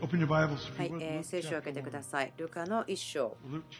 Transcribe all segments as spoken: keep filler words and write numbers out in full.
はい、えー聖書を開けてください。ルカの一章。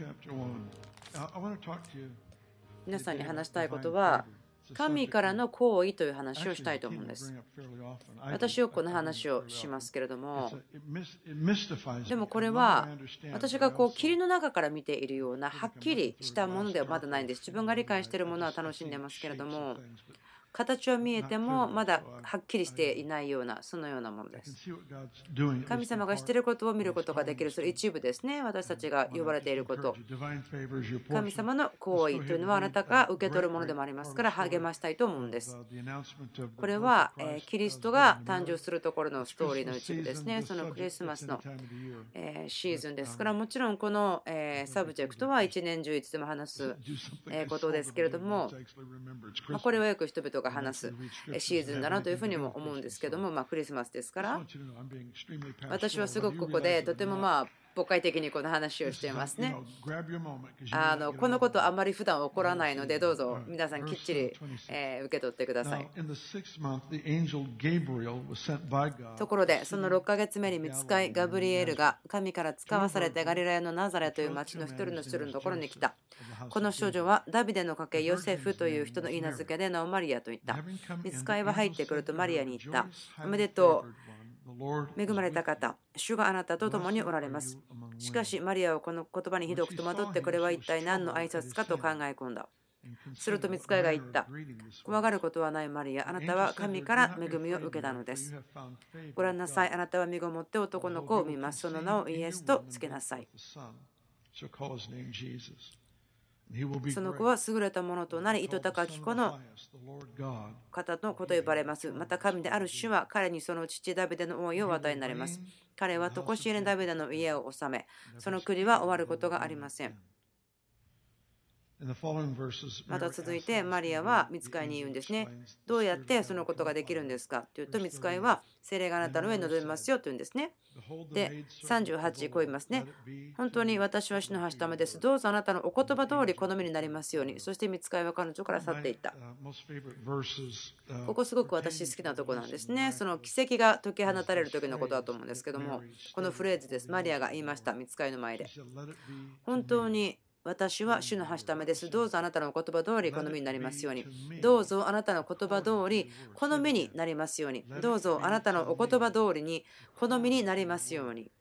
皆さんに話したいことは、神からの行為という話をしたいと思うんです。私よくこの話をしますけれども、でもこれは私がこう霧の中から見ているようなはっきりしたものではまだないんです。自分が理解しているものは楽しんでますけれども、形は見えてもまだはっきりしていないような、そのようなものです。神様がしていることを見ることができる、それ一部ですね。私たちが呼ばれていること。神様の行為というのはあなたが受け取るものでもありますから励ましたいと思うんです。これはキリストが誕生するところのストーリーの一部ですね。そのクリスマスのシーズンですから、もちろんこのサブジェクトは一年中いつでも話すことですけれども、これはよく人々が話すシーズンだなというふうにも思うんですけども、まあクリスマスですから、私はすごくここでとてもまあ誤解的にこの話をしていますね。あのこのことあまり普段起こらないので、どうぞ皆さんきっちり、えー受け取ってください。ところで、そのろっかげつめに御使いガブリエルが神から使わされてガリラヤのナザレという町の一人の人のところに来た。この少女はダビデの家系ヨセフという人の言い名付けで名をマリアと言った。御使いは入ってくるとマリアに言った。おめでとう。恵まれた方、主があなたと共におられます。しかしマリアはこの言葉にひどく戸惑って、これは一体何の挨拶かと考え込んだ。すると御使いが言った。怖がることはないマリア、あなたは神から恵みを受けたのです。ご覧なさい、あなたは身ごもって男の子を産みます。その名をイエスとつけなさい。その子は優れたものとなり、糸高き子の方の子と呼ばれます。また神である主は彼にその父ダビデの王位をお与えになります。彼は常しえにダビデの家を治め、その国は終わることがありません。また続いてマリアは御使いに言うんですね。どうやってそのことができるんですかというと、御使いは聖霊があなたの上に臨みますよと言うんですね。で、さんじゅうはちこう言いますね。本当に私は主のはしためです。どうぞあなたのお言葉通り好みになりますように。そして御使いは彼女から去っていった。ここすごく私好きなとこなんですね。その奇跡が解き放たれる時のことだと思うんですけども、このフレーズです。マリアが言いました。御使いの前で。本当に私は主のはしためです。どうぞあなたの言葉通り好みになりますように。どうぞあなたの言葉通り好みになりますように。どうぞあなたのお言葉通りに好みになりますように。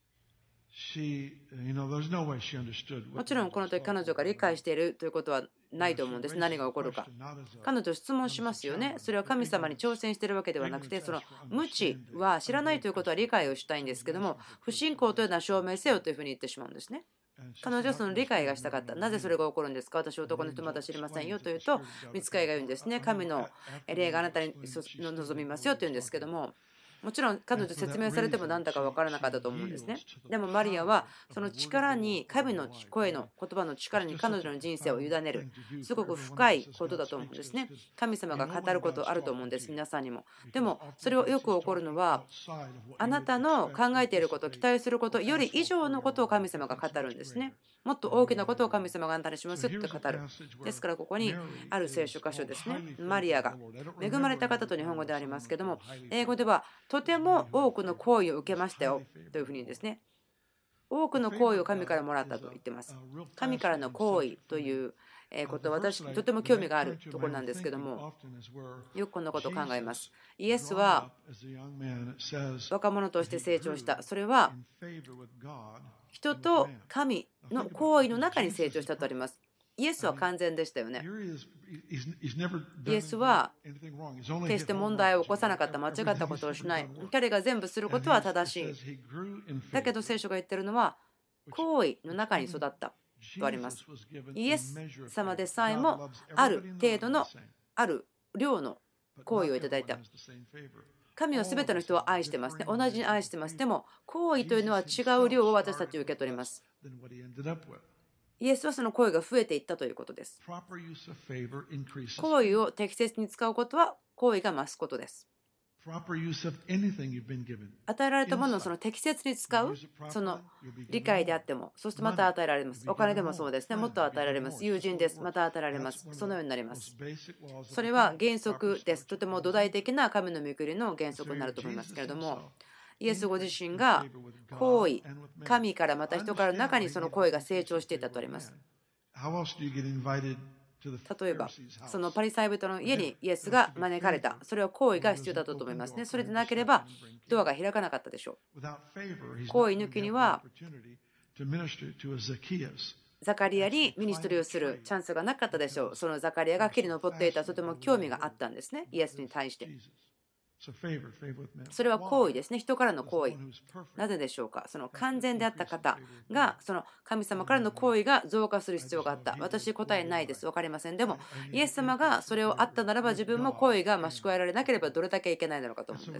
もちろんこの時彼女が理解しているということはないと思うんです。何が起こるか。彼女質問しますよね。それは神様に挑戦しているわけではなくて、その無知は知らないということは理解をしたいんですけども、不信仰というのは証明せよというふうに言ってしまうんですね。彼女はその理解がしたかった。なぜそれが起こるんですか。私は男の人まだ知りませんよというと、御使いが言うんですね。神の霊があなたに望みますよと言うんですけども、もちろん彼女説明されても何だか分からなかったと思うんですね。でもマリアはその力に、神の声の言葉の力に彼女の人生を委ねる、すごく深いことだと思うんですね。神様が語ることあると思うんです、皆さんにも。でもそれはよく起こるのは、あなたの考えていること、期待することより以上のことを神様が語るんですね。もっと大きなことを神様があなたにしますって語る。ですからここにある聖書箇所ですね。マリアが恵まれた方と日本語でありますけども、英語ではとても多くの行為を受けましたよというふうにですね。多くの行為を神からもらったと言ってます。神からの行為ということは私とても興味があるところなんですけども、よくこんなことを考えます。イエスは若者として成長した。それは人と神の行為の中に成長したとあります。イエスは完全でしたよね。イエスは決して問題を起こさなかった、間違ったことをしない。彼が全部することは正しい。だけど聖書が言ってるのは行為の中に育ったとあります。イエス様でさえもある程度のある量の行為をいただいた。神は全ての人を愛してますね。同じに愛してます。でも行為というのは違う量を私たち受け取ります。イエスはその行為が増えていったということです。行為を適切に使うことは行為が増すことです。与えられたものをその適切に使う、その理解であっても、そしてまた与えられます。お金でもそうですね。もっと与えられます。友人です。また与えられます。そのようになります。それは原則です。とても土台的な神の御国の原則になると思いますけれども、 イエスご自身が行為、神からまた人からの中にその行為が成長していたとあります。例えば、そのパリサイ人の家にイエスが招かれた。それは行為が必要だったと思いますね。それでなければ、ドアが開かなかったでしょう。行為抜きには、ザカリアにミニストリーをするチャンスがなかったでしょう。そのザカリアが木に登っていた、とても興味があったんですね、イエスに対して。それは行為ですね、人からの行為。なぜでしょうか。その完全であった方が、その神様からの行為が増加する必要があった。私、答えないです、分かりません。でも、イエス様がそれをあったならば、自分も行為が増し加えられなければどれだけいけないのかと思うんです。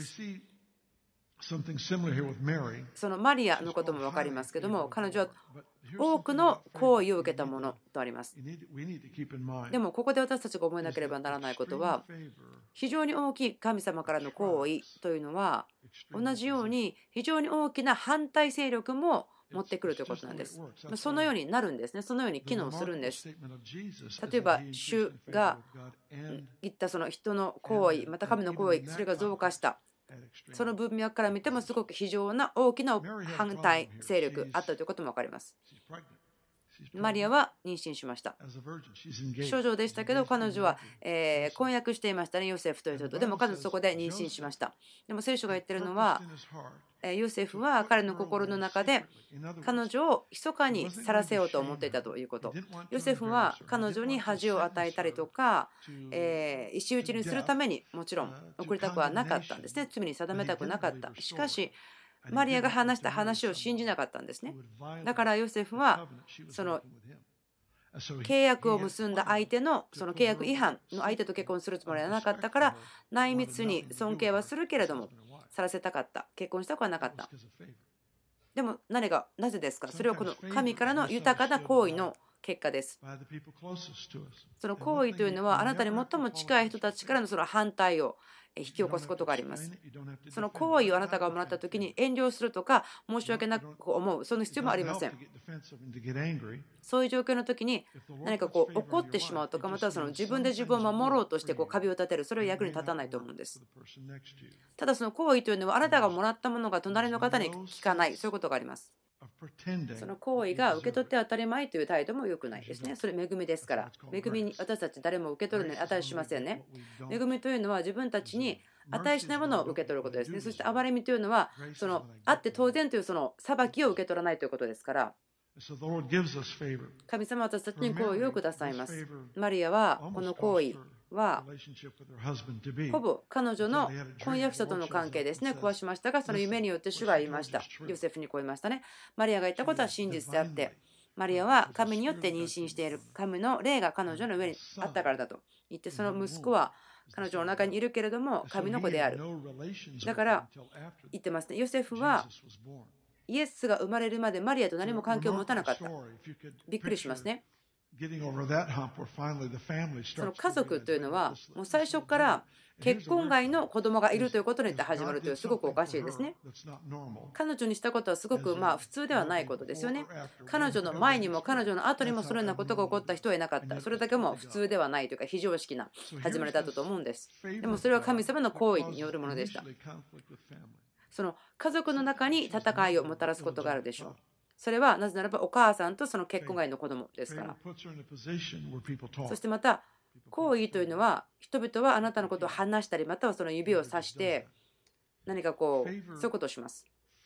そのマリアのことも分かりますけども、彼女は多くの行為を受けたものとあります。でもここで私たちが覚えなければならないことは、非常に大きい神様からの行為というのは、同じように非常に大きな反対勢力も持ってくるということなんです。そのようになるんですね。そのように機能するんです。例えば主が言ったその人の行為、また神の行為、それが増加した。その文脈から見てもすごく非常な大きな反対勢力あったということも分かります。マリアは妊娠しました。少女でしたけど、彼女は、えー、婚約していましたね、ヨセフという人と。でも彼女そこで妊娠しました。でも聖書が言ってるのは、ヨセフは彼の心の中で彼女を密かに去らせようと思っていたということ。ヨセフは彼女に恥を与えたりとか、えー、石打ちにするためにもちろん送りたくはなかったんですね。罪に定めたくなかった。しかしマリアが話した話を信じなかったんですね。だからヨセフはその契約を結んだ相手のその契約違反の相手と結婚するつもりはなかったから、内密に尊敬はするけれどもさらせたかった、結婚したくはなかった。でも何がなぜですか。それはこの神からの豊かな行為の結果です。その行為というのはあなたに最も近い人たちからのその反対を引き起こすことがあります。その行為をあなたがもらった時に遠慮するとか申し訳なく思う、その必要もありません。そういう状況の時に何かこう怒ってしまうとか、またはその自分で自分を守ろうとしてこう壁を立てる、それは役に立たないと思うんです。ただその行為というのはあなたがもらったものが隣の方に効かない、そういうことがあります。その行為が受け取って当たり前という態度も良くないですね。それ恵みですから。恵みに私たち誰も受け取るのに値しませんね。恵みというのは自分たちに値しないものを受け取ることですね。そして憐れみというのはそのあって当然というその裁きを受け取らないということですから。神様は私たちに行為をくださいます。マリアはこの行為はほぼ彼女の婚約者との関係ですね、壊しましたが、その夢によって主が言いました。ヨセフにこう言いましたね。マリアが言ったことは真実であって、マリアは神によって妊娠している、神の霊が彼女の上にあったからだと言って、その息子は彼女の中にいるけれども神の子である。だから言ってますね。ヨセフはイエスが生まれるまでマリアと何も関係を持たなかった。びっくりしますね。その家族というのはもう最初から結婚外の子供がいるということによって始まるという、すごくおかしいですね。彼女にしたことはすごくまあ普通ではないことですよね。彼女の前にも彼女の後にもそのようなことが起こった人はいなかった。それだけも普通ではないというか非常識な始まりだったと思うんです。でもそれは神様の行為によるものでした。その家族の中に戦いをもたらすことがあるでしょう。それはなぜならばお母さんとその結婚外の子供ですから。そしてまた行為というのは人々はあなたのことを話したり、またはその指をさして何かこうそういうことをします。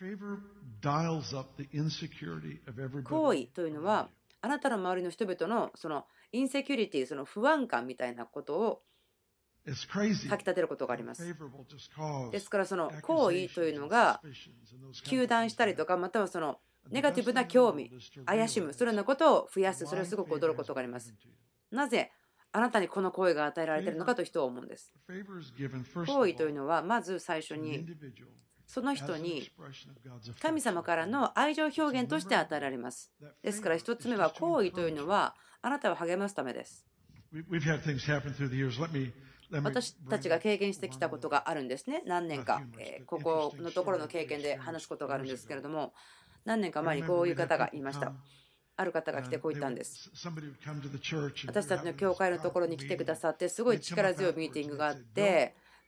行為というのはあなたの周りの人々のそのインセキュリティ、その不安感みたいなことをかき立てることがあります。ですからその行為というのが糾弾したりとか、またはそのネガティブな興味、怪しむ、そのようなことを増やす、それはすごく驚くことがあります。なぜあなたにこの行為が与えられているのかと人は思うんです。行為というのはまず最初にその人に神様からの愛情表現として与えられます。ですから一つ目は行為というのはあなたを励ますためです。私たちが経験してきたことがあるんですね。何年か、えー、ここのところの経験で話すことがあるんですけれども、何年か前にこういう方がいました。ある方が来てこう言ったんです。私たちの教会のところに来てくださって、すごい力強いミーティングがあって、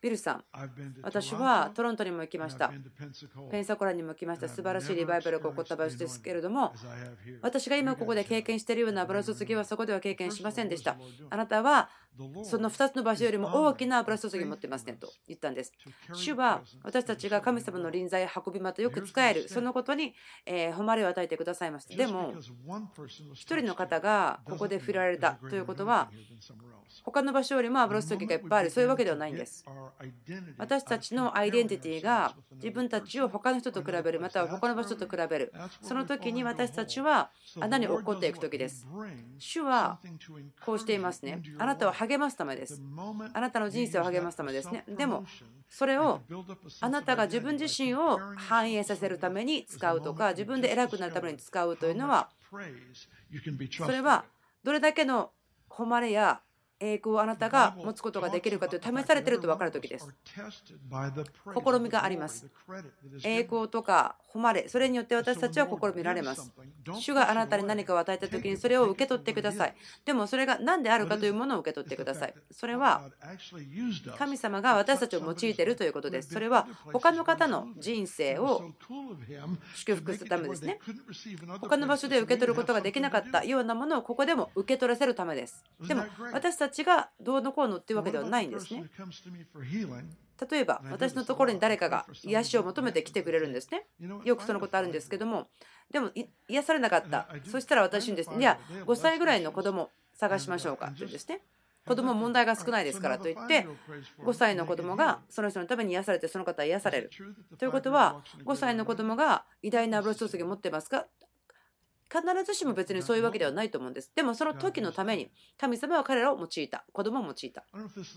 ビルさん、私はトロントにも行きました。ペンサコラにも来ました。素晴らしいリバイバルが起こった場所ですけれども、私が今ここで経験しているような油注ぎはそこでは経験しませんでした。あなたはそのふたつの場所よりも大きな油注ぎを持ってますねと言ったんです。主は私たちが神様の臨在運びまとよく使える、そのことにえー誉れを与えてくださいました。でも、一人の方がここで触れられたということは、他の場所よりも油注ぎがいっぱいある、そういうわけではないんです。私たちのアイデンティティが自分たちを他の人と比べる、または他の場所と比べる、その時に私たちは穴に落っこっていく時です。主はこうしていますね。あなたを励ますためです。あなたの人生を励ますためですね。でも、それをあなたが自分自身を反映させるために使うとか、自分で偉くなるために使うというのは、それはどれだけの誉れや栄光をあなたが持つことができるかという試されていると分かるときです。試みがあります。栄光とか誉れ、それによって私たちは試みられます。主があなたに何かを与えたときにそれを受け取ってください。でもそれが何であるかというものを受け取ってください。それは神様が私たちを用いているということです。それは他の方の人生を祝福するためですね。他の場所で受け取ることができなかったようなものをここでも受け取らせるためです。でも私たちがどうのこうのっていうわけではないんですね。例えば私のところに誰かが癒しを求めて来てくれるんですね。よくそのことあるんですけども、でも癒されなかった。そしたら私にですね、いやごさいぐらいの子供探しましょうかって言うんですね。子供問題が少ないですからといってごさいの子供がその人のために癒されてその方は癒されるということは、ごさいの子供が偉大な油注ぎを持ってますか？必ずしも別にそういうわけではないと思うんです。でもその時のために神様は彼らを用いた、子供を用いた。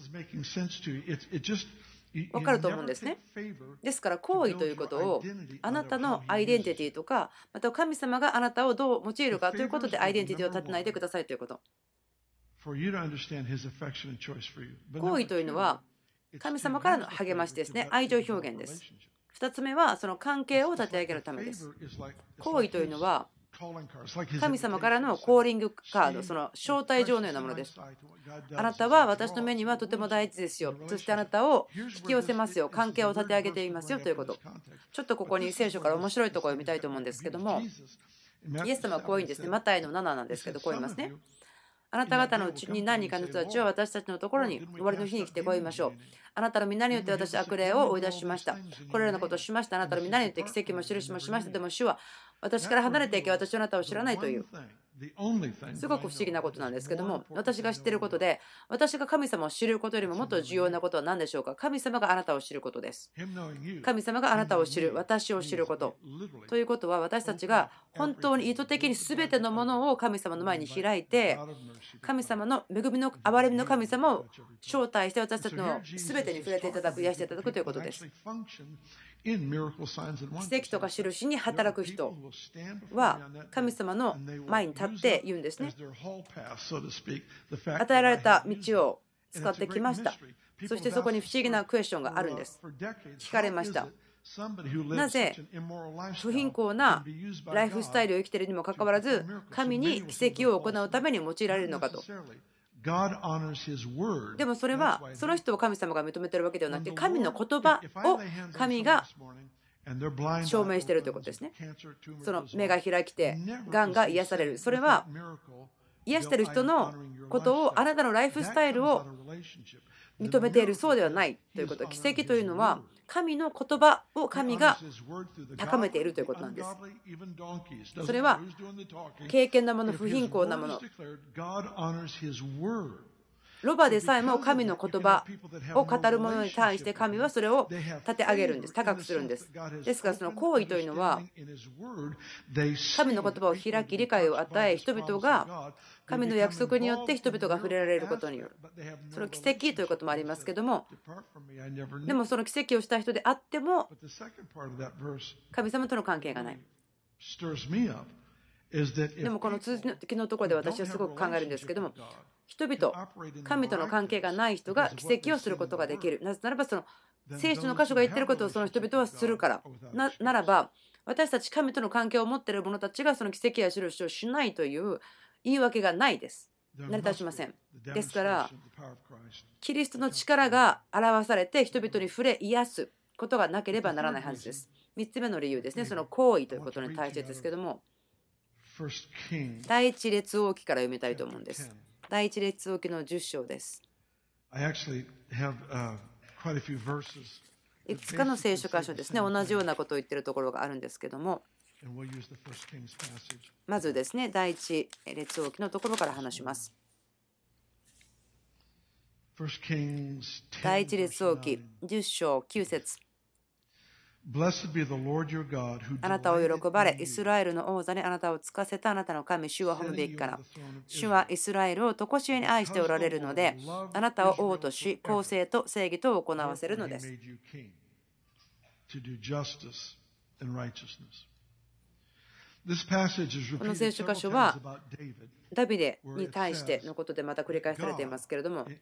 分かると思うんですね。ですから行為ということをあなたのアイデンティティとか、また神様があなたをどう用いるかということでアイデンティティを立てないでくださいということ。行為というのは神様からの励ましですね。愛情表現です。ふたつめはその関係を立て上げるためです。行為というのは神様からのコーリングカード、その招待状のようなものです。あなたは私の目にはとても大事ですよ。そしてあなたを引き寄せますよ。関係を立て上げていますよということ。ちょっとここに聖書から面白いところを読みたいと思うんですけども、イエス様はこういうんですね。マタイのなななんですけど、こう言いますね。あなた方のうちに何人かの人たちは私たちのところに終わりの日に来てこう言いましょう。あなたの皆によって私は悪霊を追い出しました。これらのことをしました。あなたの皆によって奇跡も印もしました。でも主は私から離れていけ、私はあなたを知らないという。すごく不思議なことなんですけども、私が知っていることで、私が神様を知ることよりももっと重要なことは何でしょうか。神様があなたを知ることです。神様があなたを知る、私を知ること。ということは、私たちが本当に意図的に全てのものを神様の前に開いて、神様の恵みの憐れみの神様を招待して私たちの全てに触れていただく、癒していただくということです。奇跡とか印に働く人は神様の前に立って言うんですね。与えられた道を使ってきました。そしてそこに不思議なクエスチョンがあるんです。聞かれました。なぜ不貧困なライフスタイルを生きているにもかかわらず神に奇跡を行うために用いられるのかと。でもそれはその人を神様が認めているわけではなくて、神の言葉を神が証明しているということですね。その目が開きてがんが癒される。それは癒している人のことをあなたのライフスタイルを認めている、そうではないということ。奇跡というのは神の言葉を神が高めているということなんです。それは敬虔なもの、不貧困なもの、ロバでさえも神の言葉を語る者に対して神はそれを立て上げるんです。高くするんです。ですからその行為というのは神の言葉を開き理解を与え、人々が神の約束によって人々が触れられることによる。その奇跡ということもありますけども、でもその奇跡をした人であっても神様との関係がない。でもこの続きのところで私はすごく考えるんですけども、人々、神との関係がない人が奇跡をすることができる。なぜならばその聖書の箇所が言っていることをその人々はするから。な, ならば私たち神との関係を持っている者たちがその奇跡や印をしないという言い訳がないです。 成り立ちません。ですから、キリストの力が表されて人々に触れ癒すことがなければならないはずです。みっつめの理由ですね、その行為ということに対してですけども、第一列王記から読みたいと思うんです。第一列王記のじゅっ章です。いくつかの聖書箇所ですね、同じようなことを言っているところがあるんですけども、まずですね、第一列王記のところから話します。第一列王記じゅっ章きゅう節。あなたを喜ばれ、イスラエルの王座にあなたをつかせたあなたの神、主は褒めべきから。主はイスラエルを常しえに愛しておられるので、あなたを王とし、公正と正義と行わせるのです。この聖書箇所はダビデに対してのことでまた繰り返されていますけれども、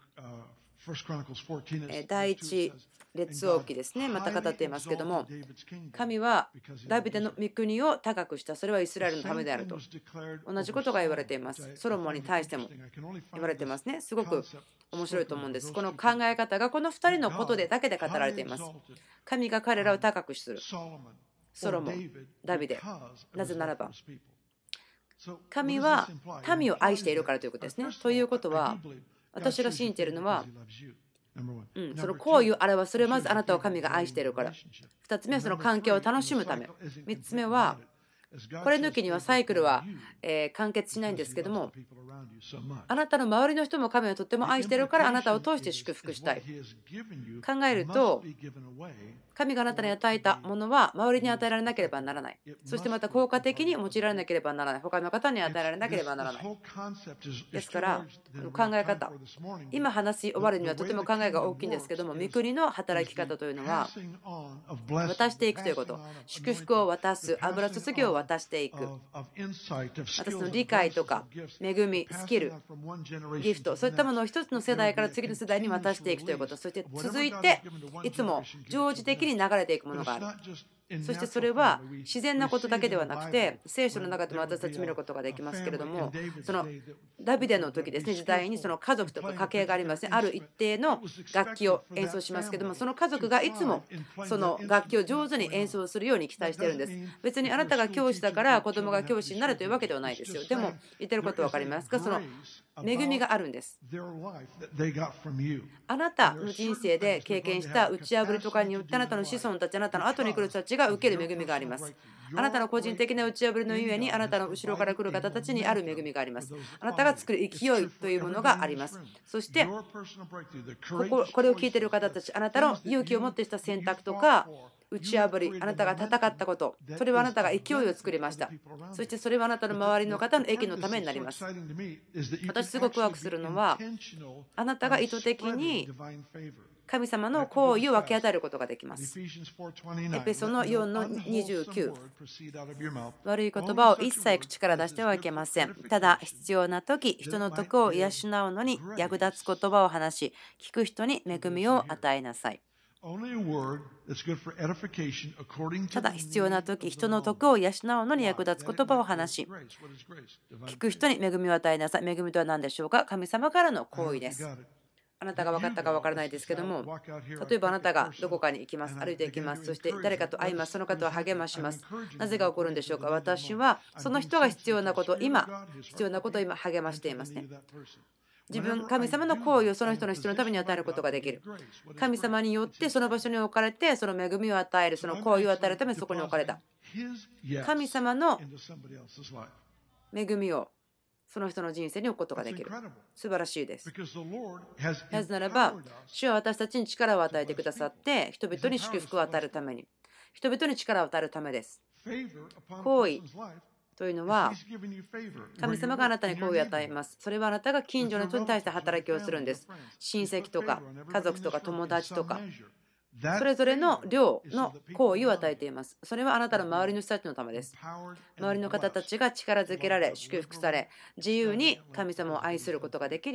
第一列王記ですね、また語っていますけれども、神はダビデの御国を高くした、それはイスラエルのためであると同じことが言われています。ソロモンに対しても言われていますね。すごく面白いと思うんです。この考え方がこのふたりのことでだけで語られています。神が彼らを高くする。ソロモン、ダビデ。なぜならば神は民を愛しているからということですね。ということは、私が信じているのは、うん、その行為を表す、それはまずあなたを神が愛しているから。ふたつめはその関係を楽しむため。みっつめは、これ抜きにはサイクルは、えー、完結しないんですけども、あなたの周りの人も神をとっても愛しているから、あなたを通して祝福したい。考えると、神があなたに与えたものは周りに与えられなければならない。そしてまた効果的に用いられなければならない。他の方に与えられなければならない。ですから、考え方、今話し終わるにはとても考えが大きいんですけども、御国の働き方というのは、渡していくということ、祝福を渡す、油注ぎを渡していく、またその理解とか、恵み、スキル、ギフト、そういったものを一つの世代から次の世代に渡していくということ、そして続いて、いつも常時的に流れていくものがある。そしてそれは自然なことだけではなくて、聖書の中でも私たち見ることができますけれども、そのダビデの時ですね、時代にその家族とか家系がありますね。ある一定の楽器を演奏しますけども、その家族がいつもその楽器を上手に演奏するように期待してるんです。別にあなたが教師だから子供が教師になるというわけではないですよ。でも言ってること分かりますか？その恵みがあるんです。あなたの人生で経験した打ち破りとかによって、あなたの子孫たち、あなたの後に来る人たちが受ける恵みがあります。あなたの個人的な打ち破りのゆえに、あなたの後ろから来る方たちにある恵みがあります。あなたが作る勢いというものがあります。そしてこここれを聞いている方たち、あなたの勇気を持ってした選択とか打ち破り、あなたが戦ったこと、それはあなたが勢いを作りました。そしてそれはあなたの周りの方の益のためになります。私すごくワクするのは、あなたが意図的に神様の行為を分け与えることができます。エペソのよんのにじゅうきゅう。悪い言葉を一切口から出してはいけません。ただ必要な時、人の徳を養うのに役立つ言葉を話し、聞く人に恵みを与えなさい。ただ必要な時、人の徳を養うのに役立つ言葉を話し、聞く人に恵みを与えなさい。恵みとは何でしょうか？神様からの行為です。あなたが分かったか分からないですけども、例えばあなたがどこかに行きます、歩いて行きます、そして誰かと会います、その方を励まします。なぜが起こるんでしょうか？私はその人が必要なことを今、必要なことを今励ましていますね。自分、神様の行為をその人の必要のために与えることができる。神様によってその場所に置かれて、その恵みを与える、その行為を与えるためにそこに置かれた。神様の恵みをその人の人生に置くことができる。素晴らしいです。なぜならば、主は私たちに力を与えてくださって、人々に祝福を与えるために、人々に力を与えるためです。行為というのは、神様があなたに行為を与えます。それはあなたが近所の人に対して働きをするんです。親戚とか家族とか友達とか、それぞれの量の行為を与えています。それはあなたの周りの人たちのためです。周りの方たちが力づけられ、祝福され、自由に神様を愛することができるように。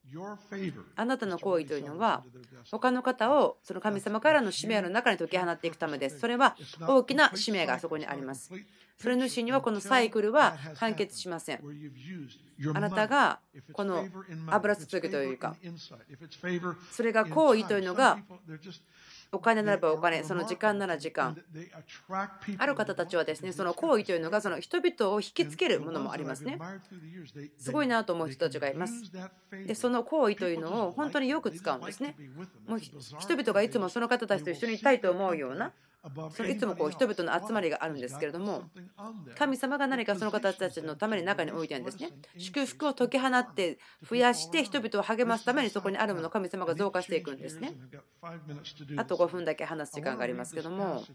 あなたの行為というのは他の方をその神様からの使命の中に解き放っていくためです。それは大きな使命がそこにあります。それ主にはこのサイクルは完結しません。あなたがこの油注ぎというか、それが行為というのがお金ならばお金、その時間なら時間。ある方たちはですね、その行為というのがその人々を引きつけるものもありますね。すごいなと思う人たちがいます。で、その行為というのを本当によく使うんですね。もう人々がいつもその方たちと一緒にいたいと思うような、そのいつもこう人々の集まりがあるんですけれども、神様が何かその方たちのために中に置いてるんですね。祝福を解き放って増やして人々を励ますためにそこにあるものを神様が増加していくんですね。あとごふんだけ話す時間がありますけども、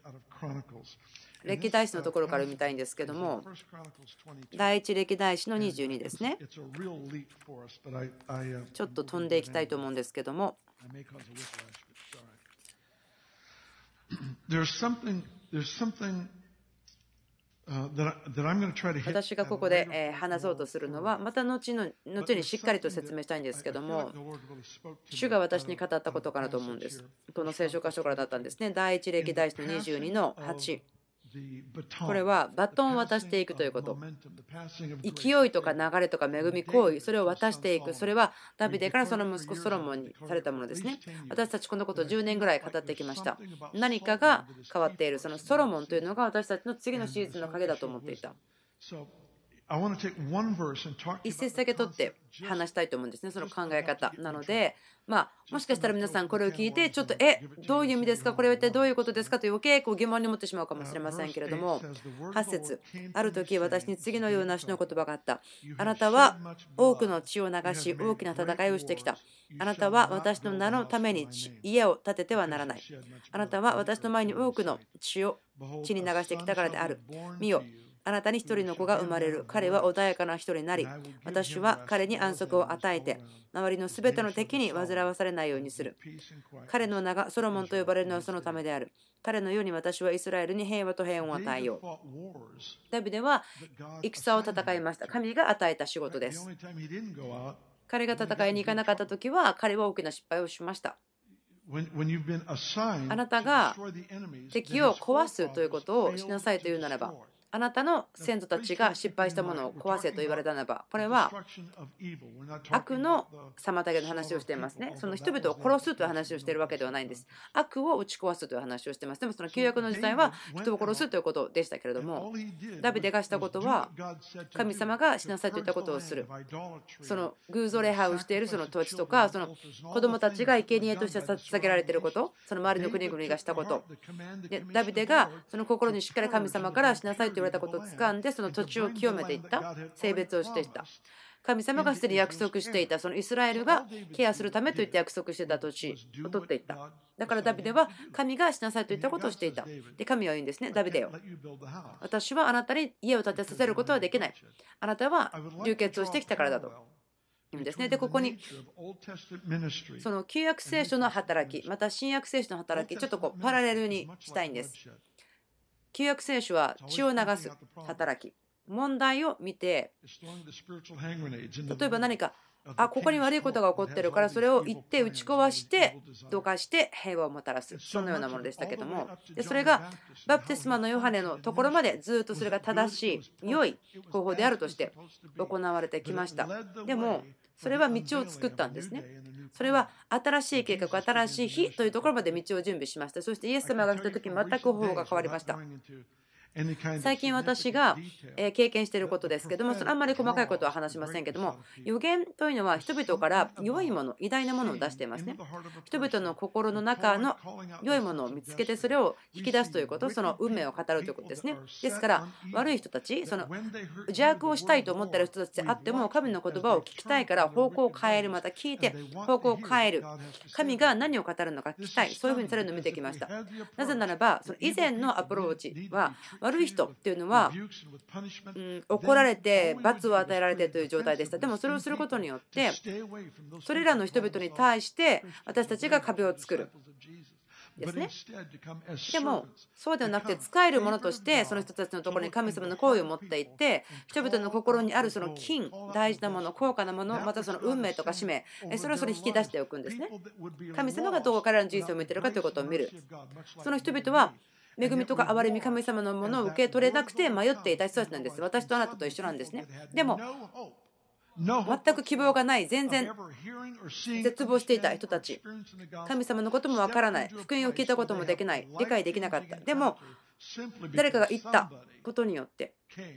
歴代史のところから見たいんですけども、第一歴代史のにじゅうにですね。ちょっと飛んでいきたいと思うんですけども、私がここで話そうとするのはまた後の後にしっかりと説明したいんですけども、主が私に語ったことかなと思うんです。この聖書箇所からだったんですね。第一歴代史のにじゅうにのはち。これはバトンを渡していくということ。勢いとか流れとか恵み行為、それを渡していく。それはダビデからその息子ソロモンにされたものですね。私たちこのことをじゅうねんぐらい語ってきました。何かが変わっている。そのソロモンというのが私たちの次のシーズンの影だと思っていた。一節だけ取って話したいと思うんですね、その考え方なので、まあ、もしかしたら皆さんこれを聞いてちょっとえどういう意味ですか、これは一体どういうことですかという余計こう疑問に思ってしまうかもしれませんけれども、はち節、ある時私に次のような主の言葉があった。あなたは多くの血を流し大きな戦いをしてきた。あなたは私の名のために家を建ててはならない。あなたは私の前に多くの血を血に流してきたからである。見よ、あなたに一人の子が生まれる。彼は穏やかな人になり、私は彼に安息を与えて、周りのすべての敵に煩わされないようにする。彼の名がソロモンと呼ばれるのはそのためである。彼のように私はイスラエルに平和と平穏を与えよう。ダビデは戦を戦いました。神が与えた仕事です。彼が戦いに行かなかったときは、彼は大きな失敗をしました。あなたが敵を壊すということをしなさいというならば、あなたの先祖たちが失敗したものを壊せと言われたならば、これは悪の妨げの話をしていますね。その人々を殺すという話をしているわけではないんです。悪を打ち壊すという話をしています。でもその旧約の時代は人を殺すということでしたけれども、ダビデがしたことは神様がしなさいといったことをする。その偶像礼拝をしているその土地とか、その子供たちが生贄として捧げられていること、その周りの国々がしたこと。で、ダビデがその心にしっかり神様からしなさいと言われたことを掴んで、その土地を清めていった、性別をしていった。神様がすでに約束していた、そのイスラエルがケアするためといって約束していた土地を取っていった。だからダビデは神がしなさいといったことをしていた。で、神は言うんですね、ダビデよ。私はあなたに家を建てさせることはできない。あなたは流血をしてきたからだと。言うんですね。で、ここにその旧約聖書の働き、また新約聖書の働き、ちょっとこうパラレルにしたいんです。旧約聖書は血を流す働き。問題を見て、例えば何か、あ、ここに悪いことが起こってるから、それを言って打ち壊して、どかして平和をもたらす。そのようなものでしたけども、でそれがバプテスマのヨハネのところまでずっとそれが正しい、良い方法であるとして行われてきました。でも、それは道を作ったんですね。それは新しい計画、新しい日というところまで道を準備しました。そしてイエス様が来た時に全く方法が変わりました。最近私が経験していることですけども、それあんまり細かいことは話しませんけども、予言というのは人々から良いもの、偉大なものを出していますね。人々の心の中の良いものを見つけて、それを引き出すということ、その運命を語るということですね。ですから悪い人たち、その邪悪をしたいと思っている人たちであっても、神の言葉を聞きたいから方向を変える、また聞いて方向を変える、神が何を語るのか聞きたい、そういうふうにされるのを見てきました。なぜならば、その以前のアプローチは、悪い人っていうのは、うん、怒られて罰を与えられてという状態でした。でもそれをすることによってそれらの人々に対して私たちが壁を作る。 ですね。でもそうではなくて、使えるものとしてその人たちのところに神様の行為を持っていって、人々の心にあるその金、大事なもの、高価なもの、またその運命とか使命、それをそれに引き出しておくんですね。神様がどう彼らの人生を見ているかということを見る。その人々は恵みとか憐れみ、神様のものを受け取れなくて迷っていた人たちなんです。私とあなたと一緒なんですね。でも全く希望がない、全然絶望していた人たち、神様のこともわからない、福音を聞いたこともできない、理解できなかった。でも誰かが言ったことによって、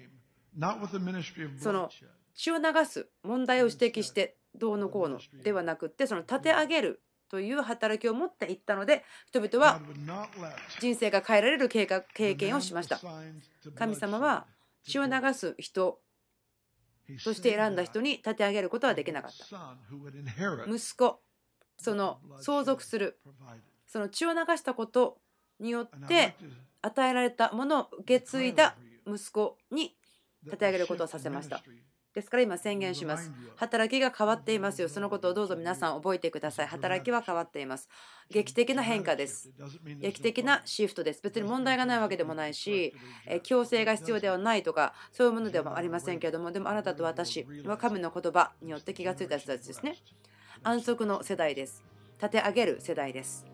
その血を流す問題を指摘してどうのこうのではなくって、その立て上げるという働きを持っていったので、人々は人生が変えられる経験をしました。神様は血を流す人として選んだ人に立て上げることはできなかった。息子、その相続する、その血を流したことによって与えられたものを受け継いだ息子に立て上げることをさせました。ですから今宣言します。働きが変わっていますよ。そのことをどうぞ皆さん覚えてください。働きは変わっています。劇的な変化です。劇的なシフトです。別に問題がないわけでもないし、強制が必要ではないとか、そういうものではありませんけれども、でもあなたと私は神の言葉によって気がついた人たちですね。安息の世代です。立て上げる世代です。